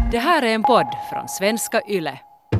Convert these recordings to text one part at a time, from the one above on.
Det här är en podd från Svenska Yle.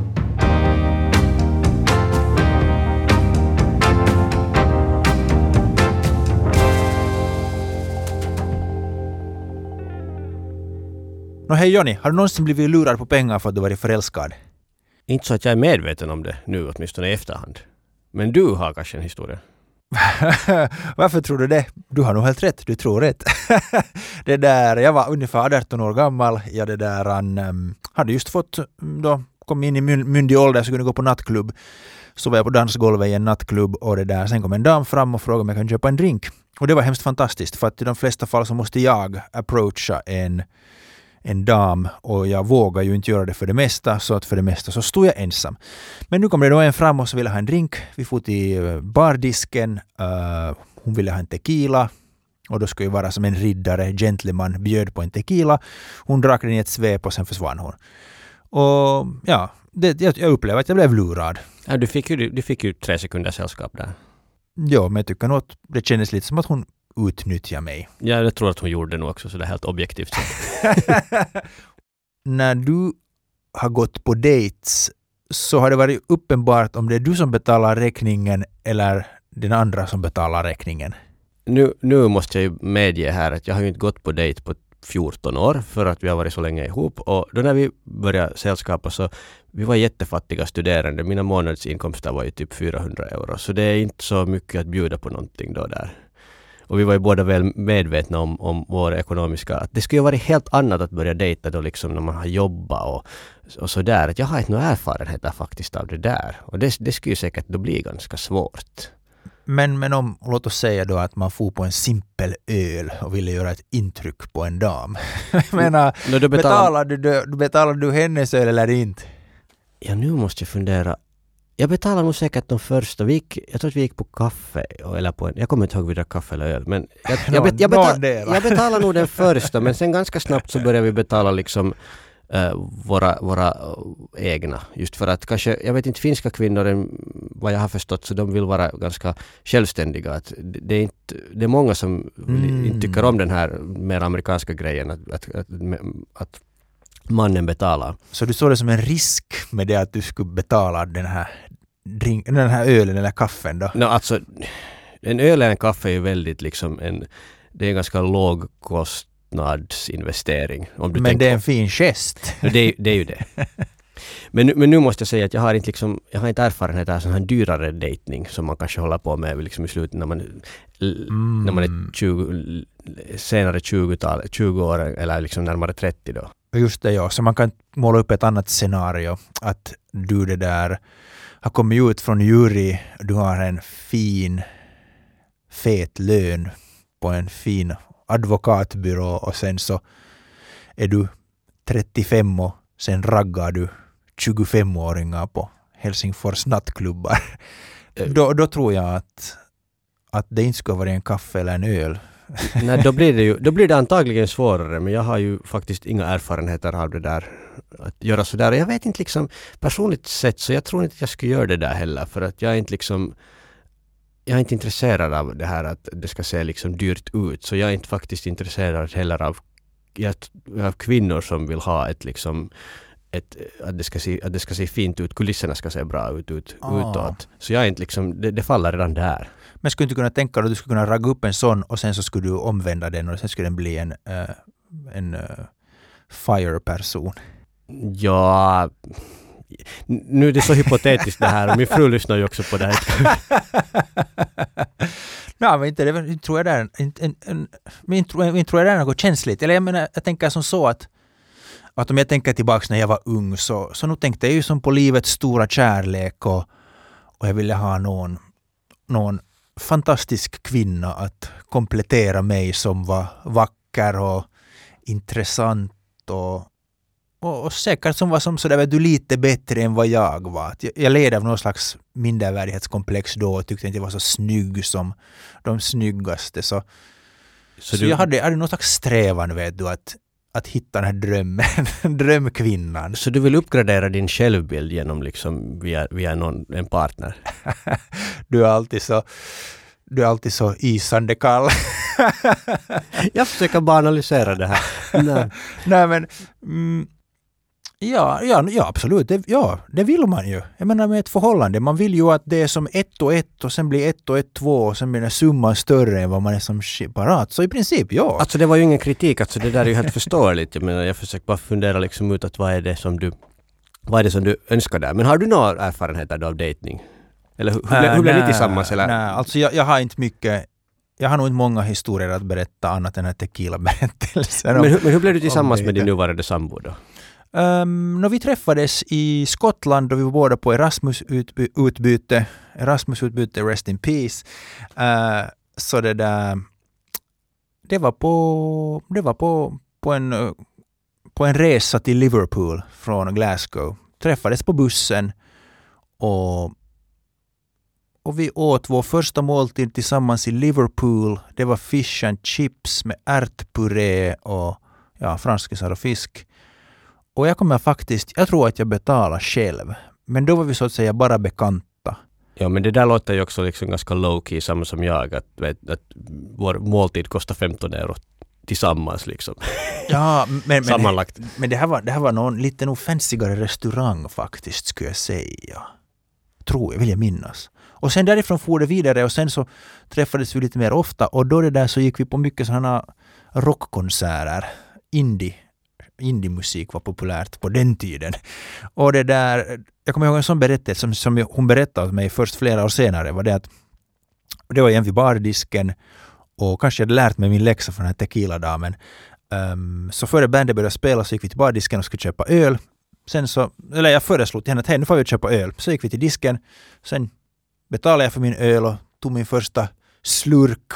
Hej Johnny, har du någonsin blivit lurad på pengar för att du varit förälskad? Inte så att jag är medveten om det nu, åtminstone i efterhand. Men du har kanske en historia. Varför tror du det? Du har nog helt rätt, du tror rätt. Jag var ungefär 18 år gammal. Hade just fått, kom in i myndig ålder så kunde gå på nattklubb. Så var jag på dansgolvet i en nattklubb och sen kom en dam fram och frågade om jag kan köpa en drink. Och det var hemskt fantastiskt för att i de flesta fall så måste jag approacha en dam och jag vågar ju inte göra det för det mesta, så att för det mesta så stod jag ensam. Men nu kom det då en fram och så ville ha en drink. Vi får till bardisken. Hon ville ha en tequila och då skulle ju vara som en riddare, gentleman, bjöd på en tequila. Hon drack den i ett svep och sen försvann hon. Och ja, jag upplevde att jag blev lurad. Ja, du fick ju 3 sekunder sällskap där. Ja, men jag tycker nog att det kändes lite som att hon utnyttja mig. Ja, jag tror att hon gjorde det nog också, så det är helt objektivt. När du har gått på dates så har det varit uppenbart om det är du som betalar räkningen eller den andra som betalar räkningen. Nu måste jag ju medge här att jag har ju inte gått på dejt på 14 år för att vi har varit så länge ihop. Och då när vi började sällskapa så vi var jättefattiga studerande. Mina månadsinkomster var ju typ 400 euro. Så det är inte så mycket att bjuda på någonting då där. Och vi var ju båda väl medvetna om vår ekonomiska... Att det skulle ju vara helt annat att börja dejta då liksom när man har jobbat och sådär. Att jag har inte några erfarenheter faktiskt av det där. Och det skulle ju säkert då bli ganska svårt. Men låt oss säga då att man får på en simpel öl och ville göra ett intryck på en dam. Jag menar, betalar du hennes öl eller inte? Ja, nu måste jag fundera. Jag betalar nog säkert de första. Jag tror att vi gick på kaffe eller på jag kommer inte ihåg vidare kaffe eller öl, men jag betalar nog den första, men sen ganska snabbt så börjar vi betala liksom våra egna. Just för att kanske, jag vet inte, finska kvinnor vad jag har förstått så de vill vara ganska självständiga. Att det är många som inte tycker om den här mer amerikanska grejen att mannen betalar. Så du såg det som en risk med det att du skulle betala den här ölen eller kaffen då? No, alltså, en öl eller en kaffe är ju väldigt liksom det är en ganska låg kostnadsinvestering. Men det är en fin gest. Det är ju det. Men nu måste jag säga att jag har inte erfarenhet av sån här dyrare dejtning som man kanske håller på med liksom i slutet när man är 20 år eller liksom närmare 30 då. Just det, ja. Så man kan måla upp ett annat scenario. Att du har kommit ut från jury. Du har en fin, fet lön på en fin advokatbyrå och sen så är du 35 och sen raggar du 25-åringar på Helsingfors nattklubbar. Då tror jag att det inte ska vara en kaffe eller en öl. Nej, då blir det antagligen svårare, men jag har ju faktiskt inga erfarenheter av det där att göra sådär. Och jag vet inte liksom personligt sett så jag tror inte att jag skulle göra det där heller, för att jag är inte intresserad av det här att det ska se liksom dyrt ut, så jag är inte faktiskt intresserad heller av kvinnor som vill ha att det ska se fint ut, kulisserna ska se bra ut utåt. Så jag är inte liksom, det faller redan där. Men skulle du inte kunna tänka att du skulle kunna ragga upp en sån och sen så skulle du omvända den och sen skulle den bli en fire-person? Ja, nu är det så hypotetiskt det här och min fru lyssnar ju också på det här. Nej, men inte tror jag det är något känsligt. Eller jag tänker som så att om jag tänker tillbaka när jag var ung så nu tänkte jag ju som på livets stora kärlek och jag ville ha någon fantastisk kvinna att komplettera mig som var vacker och intressant och säkert som var som så där lite bättre än vad jag var. Jag led av någon slags mindervärdighetskomplex då och tyckte inte jag var så snygg som de snyggaste. Så jag hade någon slags strävan, vet du, att hitta den här drömkvinnan. Så du vill uppgradera din självbild genom liksom via en partner? Du är alltid så isande kall. Jag försöker bara analysera det här. Nej men Ja, absolut. Det vill man ju. Jag menar med ett förhållande. Man vill ju att det är som 1 och 1 och sen blir 1 och 1 2 och sen blir den summan större än vad man är som separat. Så i princip, ja. Alltså det var ju ingen kritik. Alltså det där är ju helt förståeligt. Jag menar, jag försöker bara fundera liksom ut att vad är det som du önskar där. Men har du några erfarenheter av dating? Eller hur blev ni tillsammans? Eller? Nej, alltså jag har inte mycket. Jag har nog inte många historier att berätta annat än tequila-berättelsen. Men hur blev du tillsammans med din nuvarande sambo då? När vi träffades i Skottland och vi var båda på Erasmus-utbyte, Rest in Peace, så det var på en resa till Liverpool från Glasgow. Träffades på bussen och vi åt vår första måltid tillsammans i Liverpool. Det var fish and chips med ärtpuré och franskisar och fisk. Och jag tror att jag betalar själv. Men då var vi så att säga bara bekanta. Ja, men det där låter ju också liksom ganska low-key, samma som jag. Att vår måltid kostar 15 euro tillsammans liksom. Ja, sammanlagt. Men det här var någon lite fancyare restaurang faktiskt, skulle jag säga. Vill jag minnas. Och sen därifrån for det vidare och sen så träffades vi lite mer ofta. Och då så gick vi på mycket sådana rockkonserter. Indie-musik var populärt på den tiden. Och jag kommer ihåg en sån berättelse som hon berättade mig först flera år senare, var det att det var igen vid bardisken och kanske jag hade lärt mig min läxa från den här tequila-damen. Så före bandet började spela så gick vi till bardisken och skulle köpa öl. Jag föreslog till henne att hej, nu får vi köpa öl. Så gick vi till disken, sen betalade jag för min öl och tog min första slurk.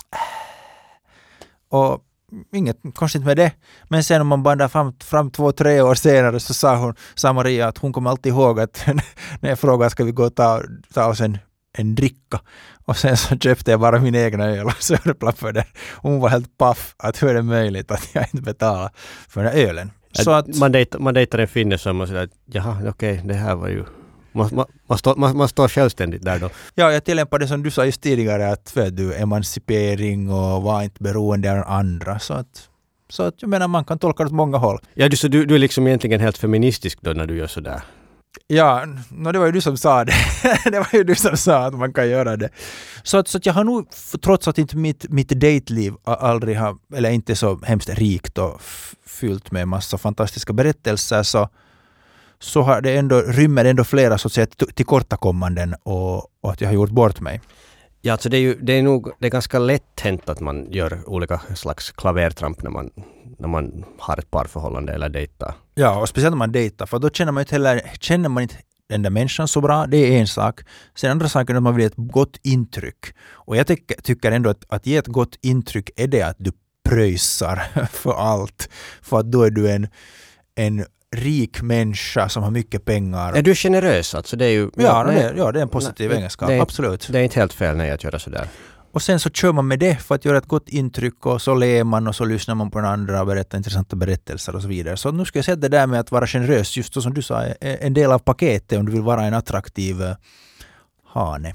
Och inget konstigt med det. Men sen om man bandar fram 2-3 år senare så sa Maria att hon kommer alltid ihåg att när jag frågade ska vi gå och ta oss en dricka. Och sen så köpte jag bara min egna öl och så för det. Hon var helt paff att hur är det möjligt att jag inte betalar för den här ölen. Så att man dejtar en finne som man säger att jaha, okej, det här var ju man står självständigt där då. Ja, jag tillämpar det som du sa just tidigare att du emancipering och var inte beroende av andra. Så att jag menar man kan tolka det åt många håll. Ja, så du är liksom egentligen helt feministisk då när du gör sådär. Ja, det var ju du som sa det. Det var ju du som sa att man kan göra det. Så att jag har nog, trots att inte mitt dateliv aldrig har, eller inte så hemskt rikt och fyllt med massa fantastiska berättelser, så har det rymmer ändå flera så att säga tillkortakommanden och att jag har gjort bort mig. Ja, alltså det är ganska lätt hänt att man gör olika slags klavertramp när man har ett parförhållande eller dejtar. Ja, och speciellt när man dejtar, för då känner man inte den där människan så bra, det är en sak. Sen andra saken är att man vill ett gott intryck. Och jag tycker ändå att ge ett gott intryck är det att du pröjsar för allt. För att då är du en rik människa som har mycket pengar. Ja, du är generös alltså. Det är ju, det är en positiv egenskap, absolut. Det är inte helt fel att göra sådär. Och sen så kör man med det för att göra ett gott intryck och så ler man och så lyssnar man på den andra och berättar intressanta berättelser och så vidare. Så nu ska jag säga det där med att vara generös, just så som du sa, är en del av paketet om du vill vara en attraktiv hane.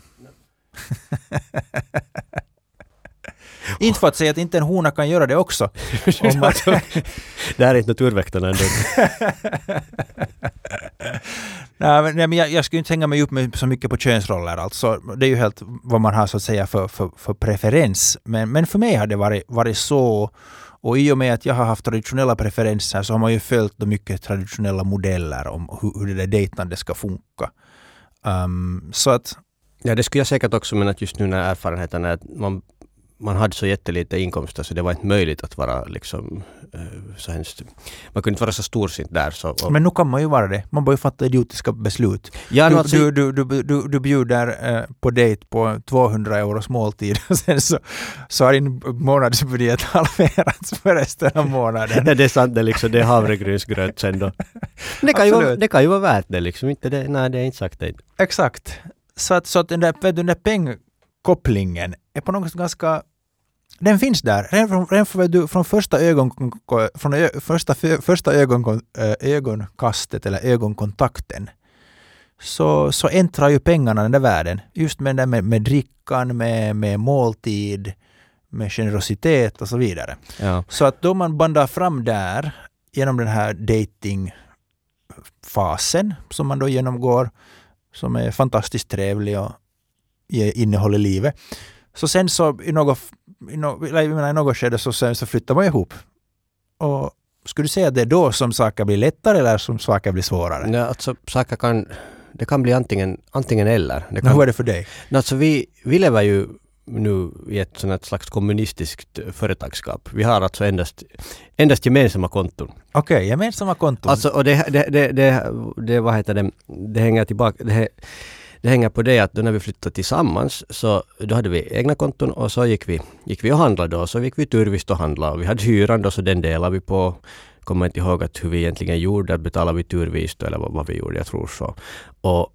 Inte för att säga att inte en hona kan göra det också. Det här är inte naturväktarna ändå. Nej, men jag skulle inte hänga mig upp med så mycket på könsroller. Alltså, det är ju helt vad man har så att säga för preferens. Men för mig har det varit så. Och i och med att jag har haft traditionella preferenser så har man ju följt mycket traditionella modeller om hur det där dejtande ska funka. Så att... Ja, det skulle jag säkert också, men att just nu när erfarenheten är att man hade så jättelite inkomster så det var inte möjligt att vara liksom så hemskt. Man kunde inte vara så storsint där. Så, men nu kan man ju vara det. Man bör ju fatta idiotiska beslut. Ja, du bjuder på dejt på 200 euros måltid och sen så har din månadsbudget halverats för resten av månaden. Det är sant, det är havregrynsgröt sen då. Det kan ju vara värt det liksom. Inte det, nej, det är inte sagt det. Exakt. Så att den där pengkopplingen är på något sätt ganska... Den finns där. Redan från första ögonkastet eller ögonkontakten så äntrar ju pengarna den där världen. Just med drickan, med måltid, med generositet och så vidare. Ja. Så att då man bandar fram där genom den här dating fasen som man då genomgår, som är fantastiskt trevlig och ger innehåll i livet. Så sen så i något skede så flyttar man ihop. Och skulle du säga att det är då som saker blir lättare eller som saker blir svårare? Ja, alltså det kan bli antingen eller. Hur är det för dig? Alltså vi lever ju nu i ett sådant slags kommunistiskt företagsskap. Vi har alltså endast gemensamma konton. Okej, gemensamma konton. Alltså, och det vad heter det? Det hänger tillbaka. Det hänger på det att då när vi flyttade tillsammans så då hade vi egna konton och så gick vi och handlade då. Så gick vi turvist och handlade och vi hade hyran då så den delade vi på. Kommer inte ihåg att hur vi egentligen gjorde, att betalade vi turvist eller vad vi gjorde, jag tror så. Och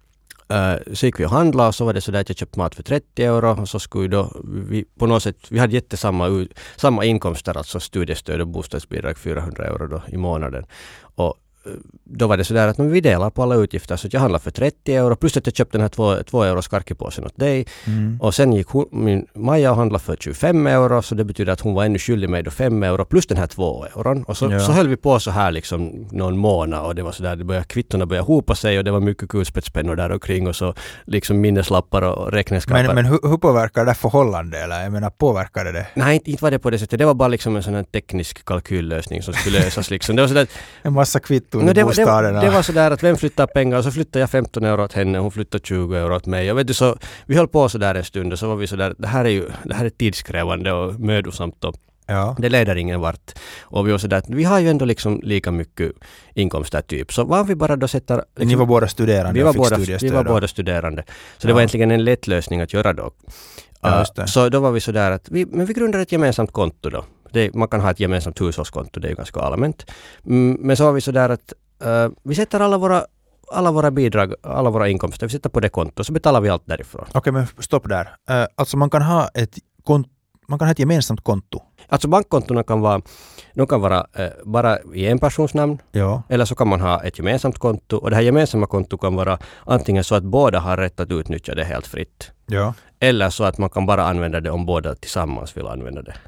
så gick vi och handlade och så var det så där att jag köpte mat för 30 euro och så skulle då vi på något sätt, vi hade samma inkomster, alltså studiestöd och bostadsbidrag 400 euro då i månaden. Och då var det så där att vi delar på alla utgifter så att jag handlade för 30 euro plus att jag köpte den här 2 euros karkipåsen åt dig. Och sen gick min Maja och handlade för 25 euro så det betyder att hon var ännu skyldig mig då 5 euro plus den här 2 euron. Och så höll vi på så här liksom någon månad och det var så där, kvittorna började hopa sig och det var mycket kulspetspennor där omkring och så liksom minneslappar och räkneskaper. Men hur påverkar det förhållande eller jag menar påverkade det? Nej, inte var det på det sättet. Det var bara liksom en sån här teknisk kalkyllösning som skulle lösas liksom. Det var så där, en massa kvitton. Det var så där att vem flyttar pengar och så flyttade jag 15 euro åt henne och hon flyttade 20 euro åt mig. Och vet du, så vi höll på så där en stund och så var vi så där, det här är tidskrävande och mödosamt och det leder ingen vart. Och vi var så där, vi har ju ändå liksom lika mycket inkomster typ. Så var vi bara då sätter... Liksom, ni var båda studerande och fick studiestöd. Vi var båda studerande. Så det var egentligen en lätt lösning att göra då. Så då var vi så där att vi grundade ett gemensamt konto då. Man kan ha ett gemensamt hushållskonto, det är ju ganska allmänt. Men så var vi så där att vi sätter alla våra bidrag, alla våra inkomster, vi sätter på det konto så betalar vi allt därifrån. Okej, men stopp där. Alltså man kan ha ett gemensamt konto. Alltså bankkontona kan vara bara i en persons namn. Ja. Eller så kan man ha ett gemensamt konto och det här gemensamma konto kan vara antingen så att båda har rätt att utnyttja det helt fritt. Ja. Eller så att man kan bara använda det om båda tillsammans vill använda det.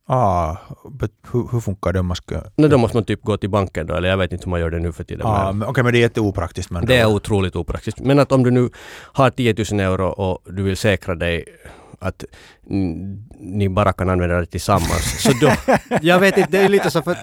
Hur funkar det om man ska... Då måste man typ gå till banken då, eller jag vet inte hur man gör det nu för tiden. Okej, men det är jätteopraktiskt. Det är otroligt opraktiskt. Men att om du nu har 10 000 euro och du vill säkra dig att ni bara kan använda det tillsammans. Så då, jag vet inte, det är lite så för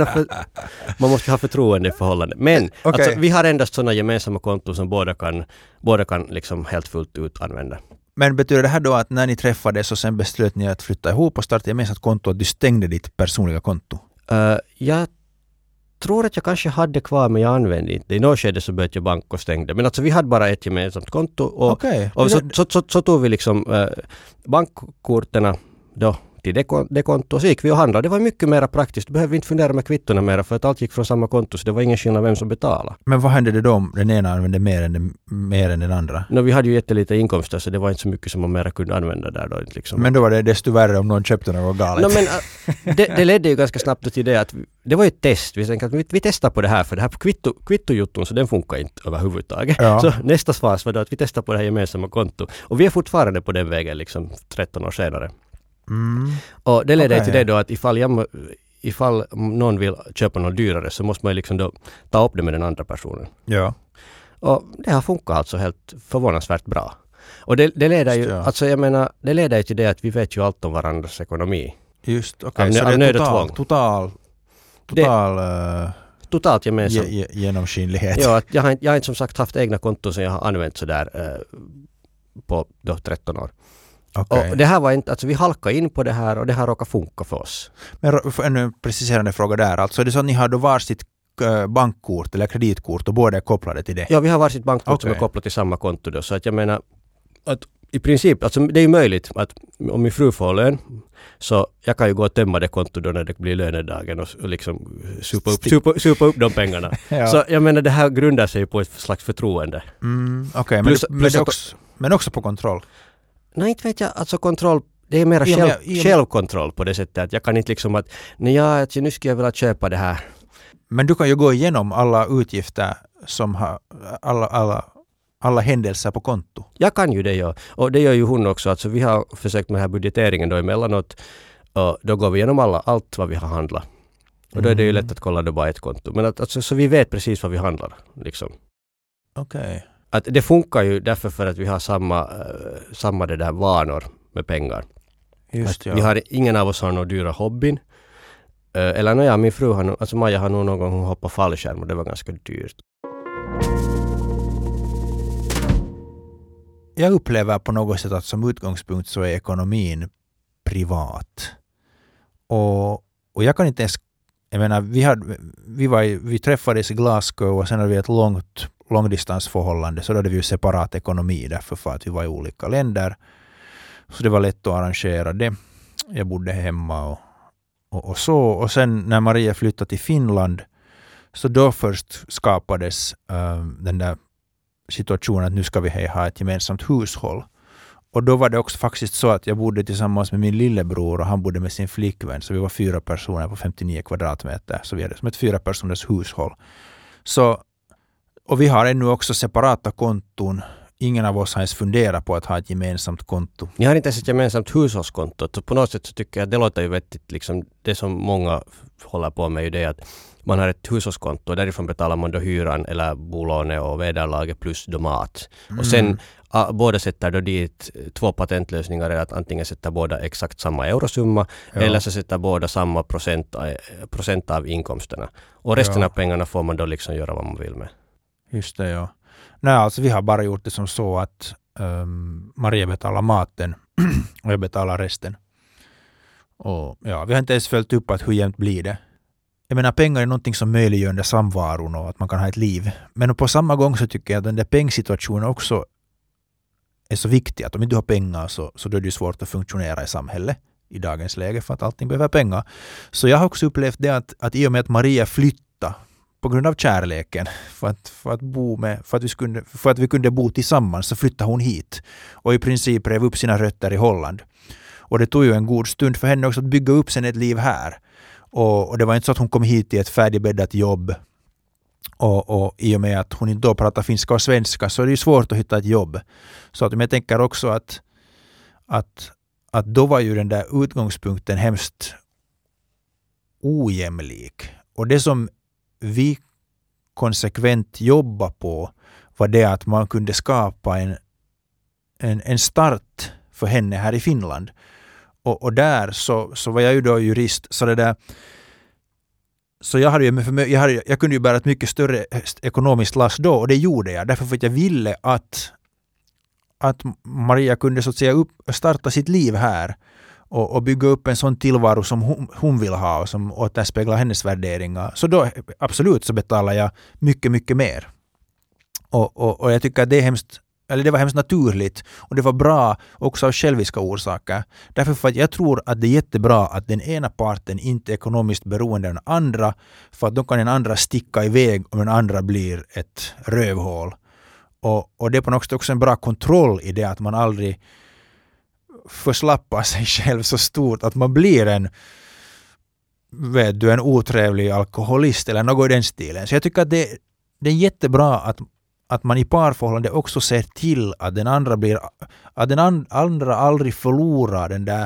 man måste ha förtroende i förhållande. Men alltså, vi har endast sådana gemensamma konton som båda kan liksom helt fullt ut använda. Men betyder det här då att när ni träffades och sen beslöt ni att flytta ihop och starta gemensamt konto att du stängde ditt personliga konto? Jag tror att jag kanske hade kvar men jag använde inte. I något skede så började jag bank och stängde. Men alltså vi hade bara ett gemensamt konto och så tog vi liksom bankkorterna då till det konto och så gick vi och handlade. Det var mycket mer praktiskt. Du behövde inte fundera med kvittorna mer för att allt gick från samma konto så det var ingen skillnad vem som betalade. Men vad hände det då om den ena använde mer än den andra? Vi hade ju jättelite inkomster så det var inte så mycket som man mer kunde använda där då. Liksom. Men då var det desto värre om någon köpte något galet. Det ledde ju ganska snabbt till det att det var ju ett test. Vi tänkte att vi testar på det här för det här kvittojutton så den funkar inte överhuvudtaget. Ja. Så nästa fas var då att vi testar på det här gemensamma konto. Och vi är fortfarande på den vägen liksom 13 år senare. Och det leder till det då att ifall någon vill köpa något dyrare så måste man liksom då ta upp det med den andra personen. Ja. Och det har funkat alltså helt förvånansvärt bra. Och det leder ju, alltså jag menar, det leder ju till det att vi vet ju allt om varandras ekonomi. Just, okej. Så det är totalt gemensamt. Genomskinlighet. Ja, att jag har inte som sagt haft egna konton som jag har använt sådär på då 13 år. Okay. Och det här var inte, alltså vi halkade in på det här och det här råkar funka för oss. Men en preciserande fråga där, alltså är det så att ni har då varsitt bankkort eller kreditkort och båda är kopplade till det? Ja, vi har varsitt bankkort som är kopplat till samma konto då, så att jag menar att i princip, alltså det är ju möjligt att om min fru får lön så jag kan ju gå och tömma det konto då när det blir lönedagen och liksom supa upp de pengarna. Ja. Så jag menar det här grundar sig på ett slags förtroende. Okej, men också på kontroll? Nej, inte vet jag. Alltså kontroll, det är mer självkontroll på det sättet att jag kan inte liksom att nu ska jag vilja köpa det här. Men du kan ju gå igenom alla utgifter som har alla händelser på konto. Jag kan ju det, ja. Och det gör ju hon också. Alltså vi har försökt med den här budgeteringen då emellanåt och då går vi igenom allt vad vi har handlat. Och då är det ju lätt att kolla det bara ett konto. Men alltså, så vi vet precis vad vi handlar. Liksom. Okej. Att det funkar ju därför för att vi har samma det där vanor med pengar. Just ja. Vi har, ingen av oss har några dyra hobbyn. Eller min fru har alltså Maja har nog någon gång hoppat fallskärm och det var ganska dyrt. Jag upplever på något sätt att som utgångspunkt så är ekonomin privat. Och jag kan inte ens, jag menar, vi träffades i Glasgow och sen hade vi ett långdistansförhållande, så då hade vi ju separat ekonomi därför för att vi var i olika länder. Så det var lätt att arrangera det. Jag bodde hemma och så. Och sen när Maria flyttade till Finland, så då först skapades den där situationen att nu ska vi ha ett gemensamt hushåll. Och då var det också faktiskt så att jag bodde tillsammans med min lillebror och han bodde med sin flickvän. Så vi var 4 personer på 59 kvadratmeter. Så vi hade som ett 4-personers hushåll. Så, och vi har ännu också separata konton. Ingen av oss har ens funderat på att ha ett gemensamt konto. Ni har inte ens ett gemensamt hushållskonto. Så på något sätt så tycker jag att det låter ju vettigt. Liksom, det som många håller på med är det att man har ett hushållskonto och därifrån betalar man då hyran eller bolånet och vederlaget plus då mat. Och sen båda sätter då dit 2 patentlösningar, är att antingen sätter båda exakt samma eurosumma eller så sätter båda samma procent av inkomsterna. Och resten av pengarna får man då liksom göra vad man vill med. Just det, ja. Nej, alltså vi har bara gjort det som så att Maria betalar maten och jag betalar resten. Och ja, vi har inte ens följt upp att hur jämnt blir det. Jag menar, pengar är någonting som möjliggör den där samvaron och att man kan ha ett liv. Men på samma gång så tycker jag att den där pengsituationen också är så viktig. Att om inte du har pengar så då är det svårt att funktionera i samhället i dagens läge för att allting behöver pengar. Så jag har också upplevt det att i och med att Maria flyttade på grund av kärleken för att vi kunde bo tillsammans, så flyttade hon hit och i princip rev upp sina rötter i Holland. Och det tog ju en god stund för henne också att bygga upp sen ett liv här. Och det var inte så att hon kom hit i ett färdigbäddat jobb och i och med att hon inte då pratar finska och svenska så är det ju svårt att hitta ett jobb. Så att jag tänker också att då var ju den där utgångspunkten hemskt ojämlik. Och det som vi konsekvent jobbar på var det att man kunde skapa en start för henne här i Finland. Och där så var jag ju då jurist, så jag kunde ju bära ett mycket större ekonomiskt last då, och det gjorde jag därför för att jag ville att Maria kunde så att säga starta sitt liv här och bygga upp en sån tillvaro som hon vill ha och som återspeglar hennes värderingar. Så då absolut så betalar jag mycket, mycket mer. Och jag tycker att det var hemskt naturligt och det var bra också av själviska orsaker. Därför för att jag tror att det är jättebra att den ena parten inte är ekonomiskt beroende av den andra, för att då kan den andra sticka iväg om den andra blir ett rövhål. Och det är på något sätt också en bra kontroll i det att man aldrig förslappar sig själv så stort att man blir en otrevlig alkoholist eller något i den stilen. Så jag tycker att det är jättebra att man i parförhållande också ser till att den andra aldrig förlorar den där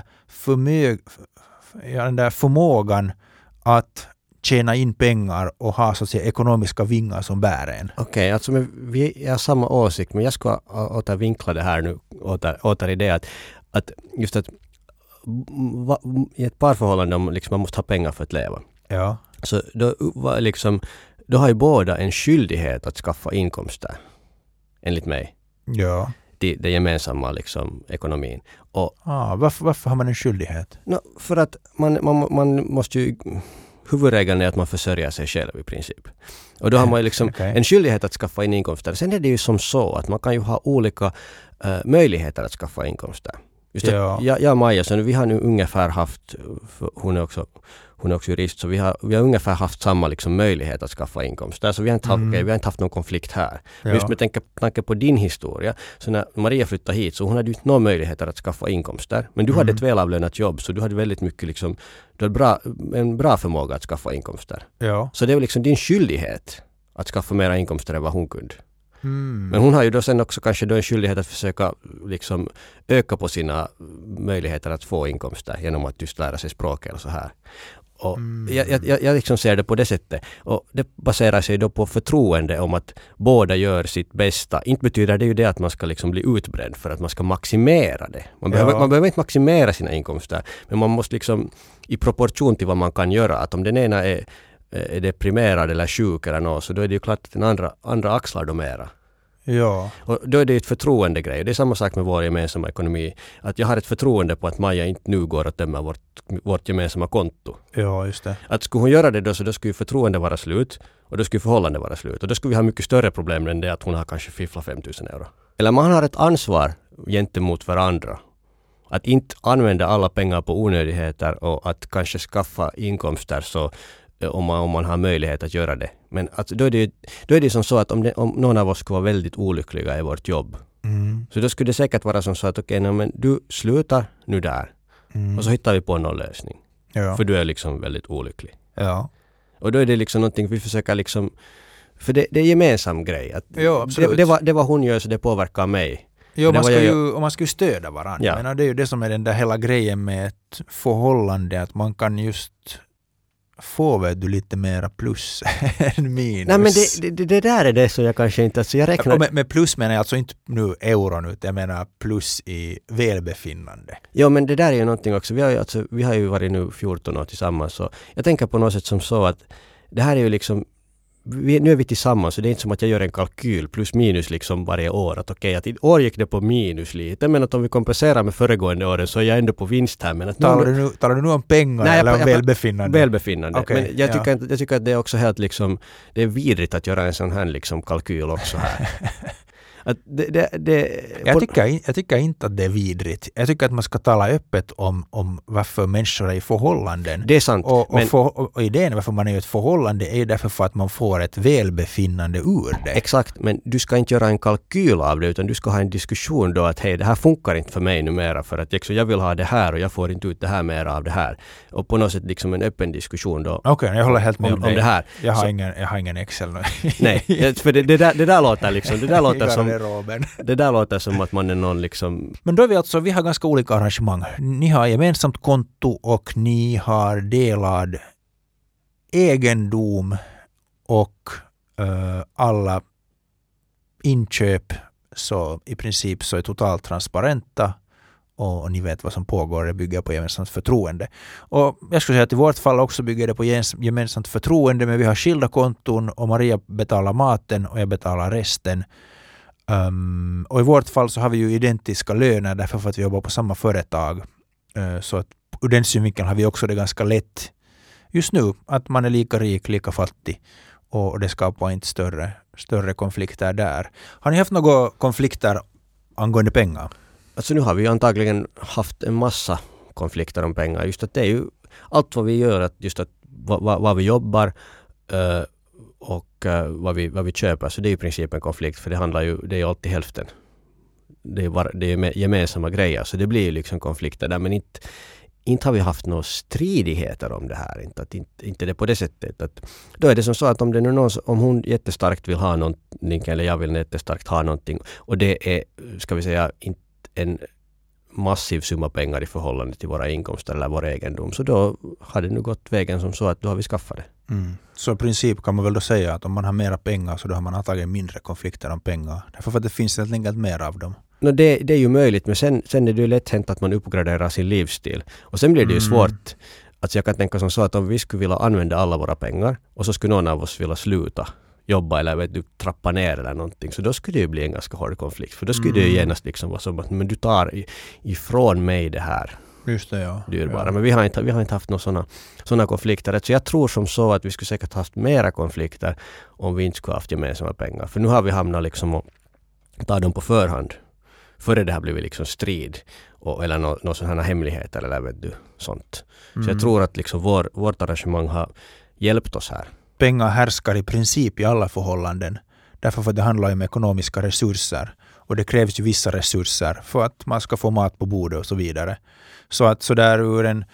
förmågan att tjäna in pengar och ha så att säga ekonomiska vingar som bär en. Okej, alltså vi har samma åsikt, men jag ska återvinkla det här nu åter i det att just att i ett parförhållande man måste ha pengar för att leva. Ja. Så då har ju båda en skyldighet att skaffa inkomster, enligt mig. Ja. Det gemensamma ekonomin. Och, varför har man en skyldighet? För att man måste ju... Huvudregeln är att man försörjer sig själv i princip. Och då har man ju en skyldighet att skaffa in inkomster. Sen är det ju som så att man kan ju ha olika möjligheter att skaffa inkomster. Just jag och Maja, så vi har nu ungefär haft, hon är också jurist, så vi har ungefär haft samma möjlighet att skaffa inkomster. Så vi har inte haft någon konflikt här. Men just med tanke på din historia, så när Maria flyttade hit så hon hade ju inte någon möjlighet att skaffa inkomster. Men du hade ett välavlönat jobb, så du hade väldigt mycket du hade en bra förmåga att skaffa inkomster. Ja. Så det är din skyldighet att skaffa mera inkomster än vad hon kunde. Men hon har ju då sen också kanske då en skyldighet att försöka öka på sina möjligheter att få inkomster genom att just lära sig språk eller så här. Och jag liksom ser det på det sättet. Och det baserar sig då på förtroende om att båda gör sitt bästa. Inte betyder det ju det att man ska liksom bli utbränd för att man ska maximera det. Man behöver inte maximera sina inkomster. Men man måste liksom i proportion till vad man kan göra. Att om den ena är deprimerad eller sjuk eller något, så då är det ju klart att den andra axlar då mera. Ja. Och då är det ett förtroendegrej. Det är samma sak med vår gemensamma ekonomi. Att jag har ett förtroende på att Maja inte nu går och tömmer vårt gemensamma konto. Ja, just det. Att skulle hon göra det då, så då skulle ju förtroende vara slut och då skulle förhållande vara slut. Och då skulle vi ha mycket större problem än det att hon har kanske fifflat 5 000 euro. Eller man har ett ansvar gentemot varandra. Att inte använda alla pengar på onödigheter och att kanske skaffa inkomster så om man har möjlighet att göra det. Men alltså, då är det som så att om någon av oss skulle vara väldigt olyckliga i vårt jobb, så då skulle det säkert vara som så att men du slutar nu där och så hittar vi på någon lösning. Ja. För du är liksom väldigt olycklig. Ja. Och då är det liksom någonting vi försöker liksom, för det är gemensam grej. Att det var hon gör så det påverkar mig. Jo, man ska ju stödja varandra. Ja. Men det är ju det som är den där hela grejen med ett förhållande, att man kan just få lite mera plus än minus. Nej, men det där är det så jag kanske inte... Alltså jag räknar... Med plus menar jag alltså inte nu euron, utan jag menar plus i välbefinnande. Ja, men det där är ju någonting också. Vi har ju varit nu 14 år tillsammans, så jag tänker på något sätt som så att det här är ju liksom... Nu är vi tillsammans, så det är inte som att jag gör en kalkyl plus minus liksom varje år. Att okej, att i år gick det på minus lite, men att om vi kompenserar med föregående åren så är jag ändå på vinst här. Men att talar du nu om pengar eller om välbefinnande? Välbefinnande. Okay, men jag tycker att det är också helt liksom, det är vidrigt att göra en sån här liksom kalkyl också här. Att jag tycker inte att det är vidrigt. Jag tycker att man ska tala öppet om varför människor är i förhållanden. Det är sant. Och idén varför man är i ett förhållande är därför för att man får ett välbefinnande ur det. Exakt, men du ska inte göra en kalkyl av det, utan du ska ha en diskussion då att hej, det här funkar inte för mig numera för att jag vill ha det här och jag får inte ut det här mer av det här. Och på något sätt liksom en öppen diskussion då. Okej, jag håller helt med om det här. Jag har ingen Excel nu. Nej, för det där låter liksom, det där låter som att man är någon liksom... Men då är vi har ganska olika arrangemang. Ni har gemensamt konto och ni har delad egendom och alla inköp så i princip så är totalt transparenta och ni vet vad som pågår. Det bygger på gemensamt förtroende. Och jag skulle säga att i vårt fall också bygger det på gemensamt förtroende, men vi har skilda konton och Maria betalar maten och jag betalar resten. Och i vårt fall så har vi ju identiska löner därför för att vi jobbar på samma företag. Så att ur den synvinkeln har vi också det ganska lätt just nu att man är lika rik, lika fattig och det skapar inte större konflikter där. Har ni haft några konflikter angående pengar? Alltså nu har vi ju antagligen haft en massa konflikter om pengar. Just att det är ju allt vad vi gör, att just att vad vi jobbar och vad vi köper, så det är i princip en konflikt, för det är alltid hälften. Det är gemensamma grejer, så det blir ju liksom konflikter där, men inte har vi haft några stridigheter om det här. Inte det på det sättet. Att, då är det som så att om hon jättestarkt vill ha någonting eller jag vill jättestarkt ha någonting och det är, ska vi säga, inte en massiv summa pengar i förhållande till våra inkomster eller vår egendom, så då har det nu gått vägen som så att då har vi skaffat det. Så i princip kan man väl då säga att om man har mera pengar så då har man antagligen mindre konflikter om pengar. Därför för att det finns helt enkelt mer av dem. Det är ju möjligt, men sen är det ju lätt hänt att man uppgraderar sin livsstil. Och sen blir det ju svårt. Alltså jag kan tänka som så att om vi skulle vilja använda alla våra pengar och så skulle någon av oss vilja sluta jobba eller trappa ner eller någonting, så då skulle det ju bli en ganska hård konflikt. För då skulle det ju genast liksom vara som att men du tar ifrån mig det här. Just det, ja. Dyrbara. Men vi har inte haft några sådana konflikter. Så jag tror som så att vi skulle säkert haft mera konflikter om vi inte skulle haft gemensamma pengar. För nu har vi hamnat liksom och ta dem på förhand. Före det har blivit liksom strid eller någon sån här hemligheter eller vet du, sånt. Så jag tror att liksom vårt arrangemang har hjälpt oss här. Pengar härskar i princip i alla förhållanden. Därför för att det handlar om ekonomiska resurser. Och det krävs ju vissa resurser för att man ska få mat på bordet och så vidare. Så att så där ur en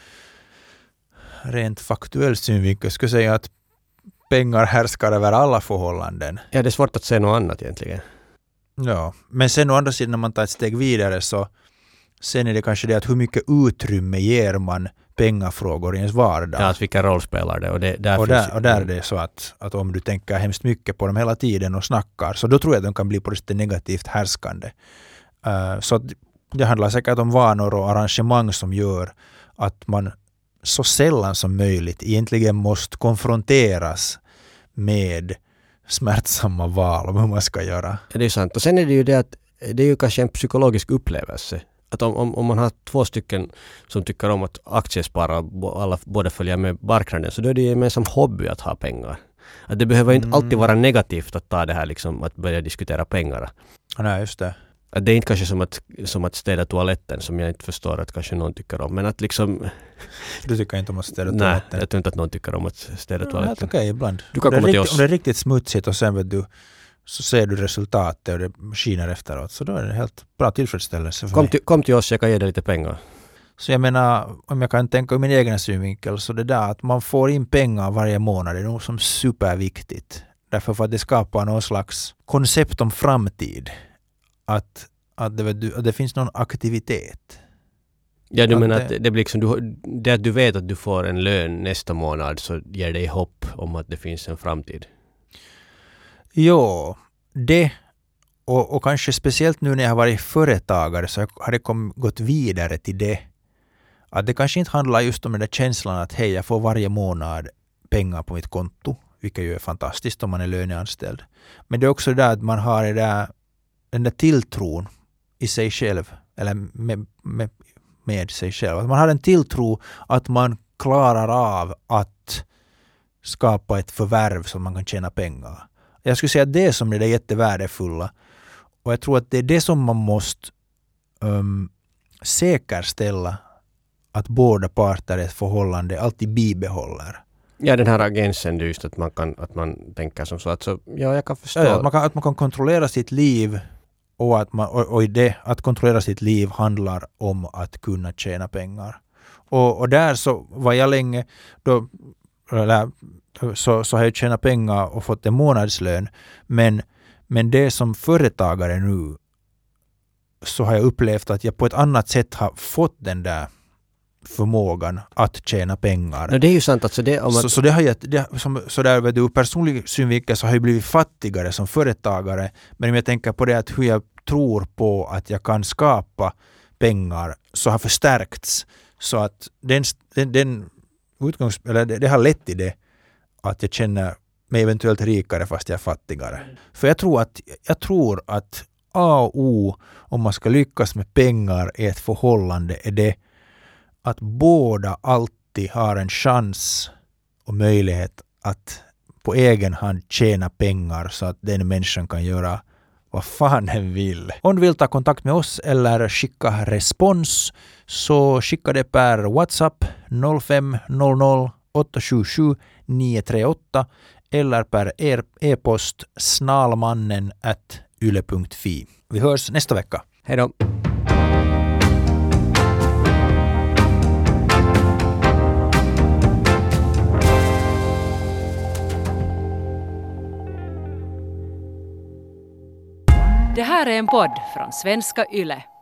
rent faktuell synvinkel skulle jag säga att pengar härskar över alla förhållanden. Ja, det är svårt att säga något annat egentligen. Ja, men sen å andra sidan när man tar ett steg vidare så sen är det kanske det att hur mycket utrymme ger man pengafrågor i ens vardag. Ja, att vilka roll spelar det? Och där är det så att om du tänker hemskt mycket på dem hela tiden och snackar, så då tror jag att de kan bli på det negativt härskande. Så att det handlar säkert om vanor och arrangemang som gör att man så sällan som möjligt egentligen måste konfronteras med smärtsamma val om hur man ska göra. Ja, det är sant. Och sen är det ju det att det är ju kanske en psykologisk upplevelse. Att om man har 2 stycken som tycker om att aktiespara och alla båda följer med marknaden, så då är det ju en gemensam hobby att ha pengar. Att det behöver inte alltid vara negativt att ta det här liksom, att börja diskutera pengar. Nej, just det. Att det är inte kanske som att städa toaletten, som jag inte förstår att kanske någon tycker om. Men att liksom... Du tycker inte om att städa toaletten? Nej, jag tror inte att någon tycker om att städa toaletten. Ja, okej, ibland. Du kan komma till oss. Om det är riktigt smutsigt och sen vet du, så ser du resultatet och det skiner efteråt. Så då är det helt bra tillfredsställelse för mig. Kom till oss, jag kan ge dig lite pengar. Så jag menar, om jag kan tänka i min egen synvinkel, så det där att man får in pengar varje månad är nog som superviktigt. Därför för att det skapar någon slags koncept om framtid. Att det finns någon aktivitet. Ja, du menar att det blir liksom, det att du vet att du får en lön nästa månad, så ger dig hopp om att det finns en framtid. Jo, det och kanske speciellt nu när jag har varit företagare, så har det gått vidare till det. Att det kanske inte handlar just om den där känslan att hej, jag får varje månad pengar på mitt konto, vilket ju är fantastiskt om man är löneanställd. Men det är också det att man har den där tilltron i sig själv, eller med sig själv. Att man har en tilltro att man klarar av att skapa ett förvärv som man kan tjäna pengar. Jag skulle säga att det är som det är jättevärdefulla. Och jag tror att det är det som man måste säkerställa, att båda parter i ett förhållande alltid bibehåller. Ja, den här agensen, det är just att man tänker som så att ja, jag kan förstå. Ja, att man kan kontrollera sitt liv, och i det att kontrollera sitt liv handlar om att kunna tjäna pengar. Och där så var jag länge då, så har jag tjänat pengar och fått en månadslön, men det som företagare nu, så har jag upplevt att jag på ett annat sätt har fått den där förmågan att tjäna pengar. No, det är ju sant. Alltså så det har jag, så där vet du, personlig synvinkel så har jag blivit fattigare som företagare, men om jag tänker på det att hur jag tror på att jag kan skapa pengar, så har förstärkts, så att det har lett till det att jag känner mig eventuellt rikare fast jag är fattigare. För jag tror att A och O om man ska lyckas med pengar i ett förhållande är det att båda alltid har en chans och möjlighet att på egen hand tjäna pengar, så att den människan kan göra vad fan den vill. Om du vill ta kontakt med oss eller skicka respons, så skicka det per WhatsApp 0500 877 938 eller per e-post snalmannen@yle.fi. Vi hörs nästa vecka. Hej då! Det här är en podd från Svenska Yle.